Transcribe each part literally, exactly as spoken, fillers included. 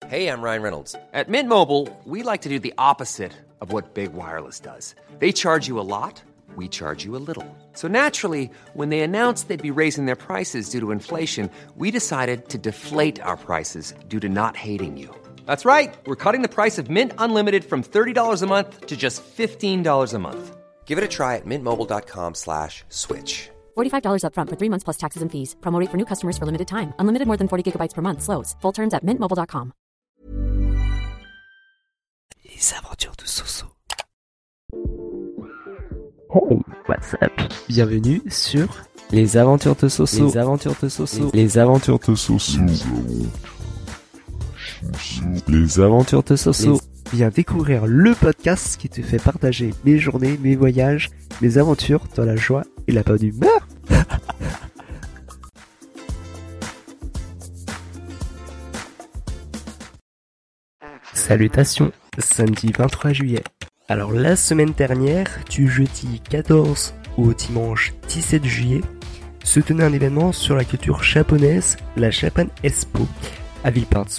Hey, I'm Ryan Reynolds. At Mint Mobile, we like to do the opposite of what Big Wireless does. They charge you a lot, we charge you a little. So naturally, when they announced they'd be raising their prices due to inflation, we decided to deflate our prices due to not hating you. That's right. We're cutting the price of Mint Unlimited from thirty dollars a month to just fifteen dollars a month. Give it a try at mintmobile.com slash switch. forty-five dollars up front for three months plus taxes and fees. Promo rate for new customers for limited time. Unlimited more than forty gigabytes per month. Slows full terms at mint mobile dot com. Les aventures de Soso. Hey, what's up? Bienvenue sur Les aventures de Soso. Les aventures de Soso. Les aventures de Soso. Les aventures de Soso. Viens découvrir le podcast qui te fait partager mes journées, mes voyages, mes aventures dans la joie et la bonne humeur. Salutations, samedi vingt-trois juillet. Alors la semaine dernière, du jeudi quatorze au dimanche dix-sept juillet, se tenait un événement sur la culture japonaise, la Japan Expo, à Villepinte.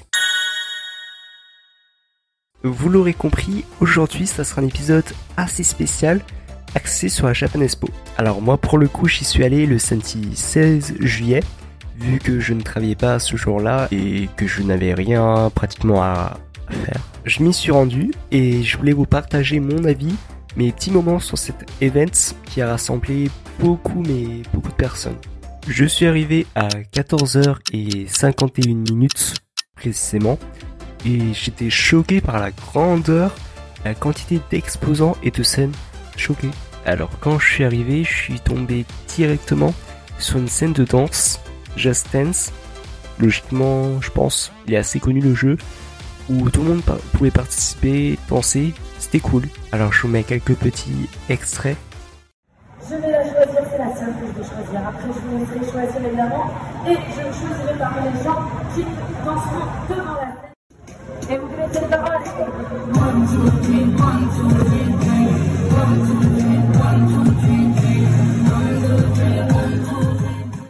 Vous l'aurez compris, aujourd'hui ça sera un épisode assez spécial, axé sur la Japan Expo. Alors moi pour le coup j'y suis allé le samedi seize juillet, vu que je ne travaillais pas ce jour-là et que je n'avais rien pratiquement à faire. Je m'y suis rendu et je voulais vous partager mon avis, mes petits moments sur cet event qui a rassemblé beaucoup mais beaucoup de personnes. Je suis arrivé à quatorze heures cinquante et une minutes précisément et j'étais choqué par la grandeur, la quantité d'exposants et de scènes. Choqué. Alors quand je suis arrivé, je suis tombé directement sur une scène de danse, Just Dance. Logiquement, je pense, il est assez connu le jeu, où tout le monde par- pouvait participer, danser, c'était cool. Alors je vous mets quelques petits extraits. Je vais la choisir, c'est la seule que je vais choisir. Après, je vous laisserai choisir évidemment. Et je choisirai parmi les gens qui danseront devant la scène. Et vous connaissez les paroles. One, two, three, one, two, three, three. One, two, three, one, two, three, three. One, two, three, one, two, three.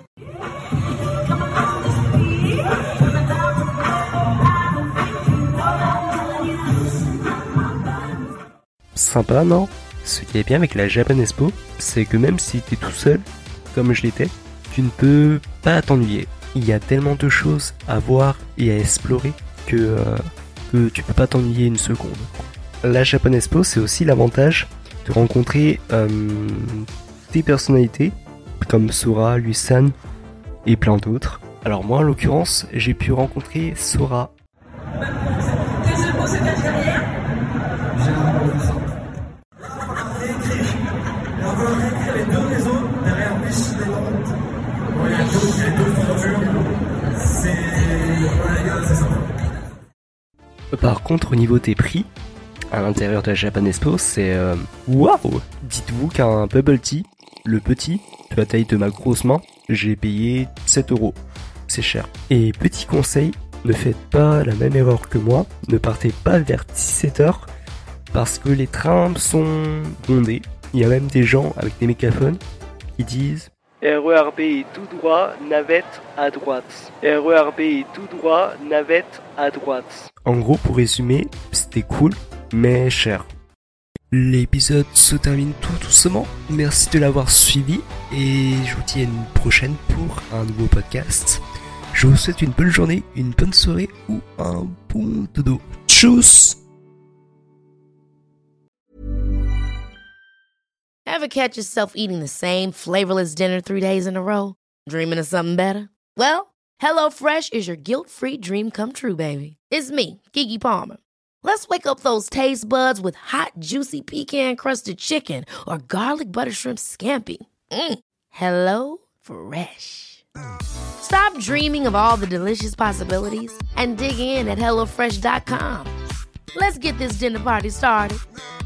Sympa, non? Ce qui est bien avec la Japan Expo, c'est que même si t'es tout seul, comme je l'étais, tu ne peux pas t'ennuyer. Il y a tellement de choses à voir et à explorer que, euh, que tu peux pas t'ennuyer une seconde. La Japan Expo, c'est aussi l'avantage de rencontrer euh, des personnalités comme Sora, Lusan et plein d'autres. Alors moi, en l'occurrence, j'ai pu rencontrer Sora. Par contre, au niveau des prix, à l'intérieur de la Japan Expo, c'est euh, waouh! Dites-vous qu'un bubble tea, le petit, de la taille de ma grosse main, j'ai payé sept euros. C'est cher. Et petit conseil, ne faites pas la même erreur que moi, ne partez pas vers dix-sept heures, parce que les trains sont bondés. Il y a même des gens avec des mégaphones qui disent R E R B tout droit, navette à droite. R E R B tout droit, navette à droite. En gros, pour résumer, c'était cool, mais cher. L'épisode se termine tout doucement. Merci de l'avoir suivi et je vous dis à une prochaine pour un nouveau podcast. Je vous souhaite une bonne journée, une bonne soirée ou un bon dodo. Tchuss! Ever catch yourself eating the same flavorless dinner three days in a row? Dreaming of something better? Well, HelloFresh is your guilt-free dream come true, baby. It's me, Keke Palmer. Let's wake up those taste buds with hot, juicy pecan-crusted chicken or garlic butter shrimp scampi. Mm. Hello Fresh. Stop dreaming of all the delicious possibilities and dig in at hello fresh dot com. Let's get this dinner party started.